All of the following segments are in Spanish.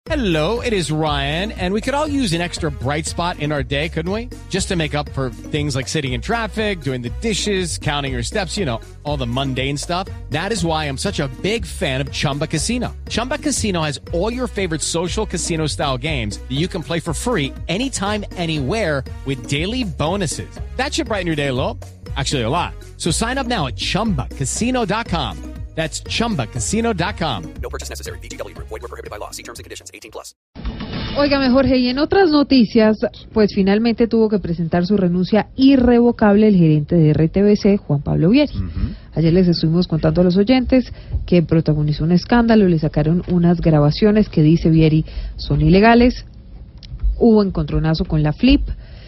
Hello, it is Ryan, and we could all use an extra bright spot in our day, couldn't we? Just to make up for things like sitting in traffic, doing the dishes, counting your steps, you know, all the mundane stuff. That is why I'm such a big fan of Chumba Casino. Chumba Casino has all your favorite social casino-style games that you can play for free anytime, anywhere with daily bonuses. That should brighten your day a little. Actually, a lot. So sign up now at ChumbaCasino.com. That's ChumbaCasino.com. No purchase necessary. VGW Group. Void where prohibited by law. See terms and conditions. 18+. Óigame, Jorge, y en otras noticias, pues finalmente tuvo que presentar su renuncia irrevocable el gerente de RTBC, Juan Pablo Vieri. Ayer les estuvimos contando a los oyentes que protagonizó un escándalo, le sacaron unas grabaciones que dice Vieri son ilegales, hubo encontronazo con la Flip,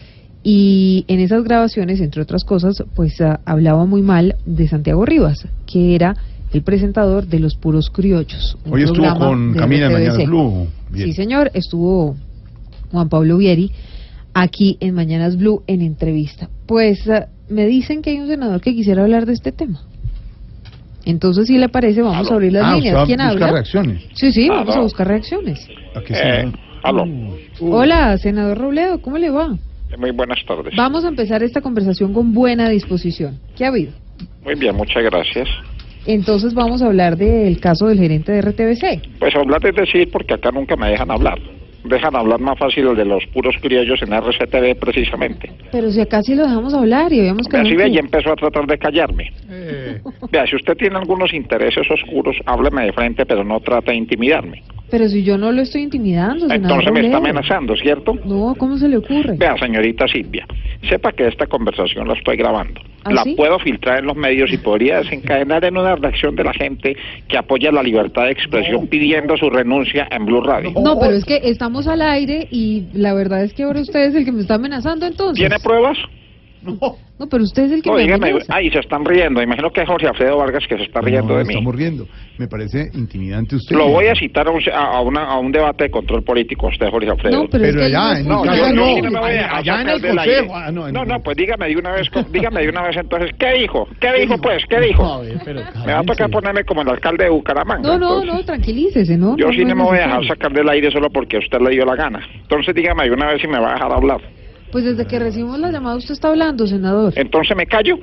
y en esas grabaciones, entre otras cosas, pues hablaba muy mal de Santiago Rivas, que era el presentador de Los Puros Criollos. Hoy estuvo con Camila en Mañanas Blue. Bien. Sí, señor, estuvo Juan Pablo Vieri aquí en Mañanas Blue en entrevista. Pues me dicen que hay un senador que quisiera hablar de este tema. Entonces, si le parece, vamos a abrir las líneas. ¿Quién habla? Reacciones. Sí, vamos a buscar reacciones. Aló. Hola, senador Robledo, ¿cómo le va? Muy buenas tardes. Vamos a empezar esta conversación con buena disposición. ¿Qué ha habido? Muy bien, muchas gracias. Entonces vamos a hablar del caso del gerente de RTBC. Pues hablar es decir, porque acá nunca me dejan hablar. Dejan hablar más fácil el de Los Puros Criollos en RCTV precisamente. Pero si acá sí lo dejamos hablar y habíamos que... Así ve, ya empezó a tratar de callarme. Vea, si usted tiene algunos intereses oscuros, hábleme de frente, pero no trate de intimidarme. Pero si yo no lo estoy intimidando, senador Entonces me está Robledo. amenazando, ¿cierto? No, ¿cómo se le ocurre? Vea, señorita Silvia, sepa que esta conversación la estoy grabando. ¿Ah, la sí? puedo filtrar en los medios y podría desencadenar en una reacción de la gente que apoya la libertad de expresión pidiendo su renuncia en Blue Radio. No, pero es que estamos al aire y la verdad es que ahora usted es el que me está amenazando entonces. ¿Tiene pruebas? No, pero usted es el que No, me dígame. amenaza. Ay, se están riendo. Imagino que es Jorge Alfredo Vargas que se está riendo de mí. Estamos riendo. Me parece intimidante usted. Lo voy a citar a un debate de control político, usted, Jorge Alfredo. No, pero es que allá, él en no el es caso yo no. sí no me voy a dejar Allá en sacar el del aire. consejo. No, pues dígame de una vez entonces, ¿qué dijo? ¿Qué dijo, pues? ¿Qué dijo? A ver, pero Me va a tocar ponerme como el alcalde de Bucaramanga. No, tranquilícese, ¿no? Yo sí no es me voy a dejar necesario. sacar del aire solo porque a usted le dio la gana. Entonces dígame de una vez si me va a dejar hablar. Pues desde que recibimos la llamada usted está hablando, senador. Entonces me callo.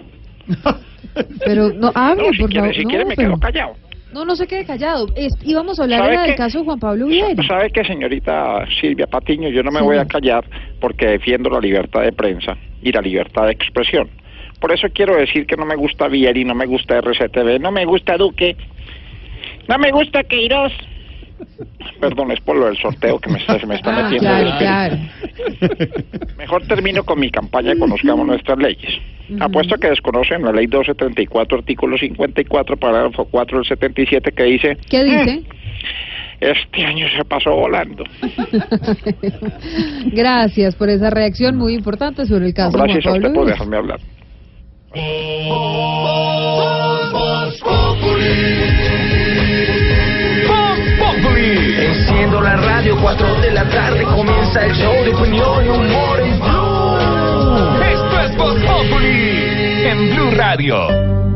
Pero no, hable, No, si por quiere, favor. si quiere me quedo callado. No se quede callado. Íbamos a hablar ¿Sabe era del qué? caso de Juan Pablo Vieri. ¿Sabe qué, señorita Silvia Patiño? Yo no me Sí. voy a callar porque defiendo la libertad de prensa y la libertad de expresión. Por eso quiero decir que no me gusta Vieri, no me gusta RCTV, no me gusta Duque, no me gusta Queiroz. Perdón, es por lo del sorteo que se me está metiendo. Claro. Mejor termino con mi campaña Conozcamos Nuestras Leyes. Apuesto a que desconocen la ley 1234, artículo 54, parágrafo 4 del 77, que dice... ¿Qué dice? Este año se pasó volando. Gracias por esa reacción muy importante sobre el caso de Juan Gracias a usted Pablo por Vieri. dejarme hablar. Enciendo la radio, 4 de la tarde comienza el show de opinión y humor en Blue. Esto es Voz Populi en Blue Radio.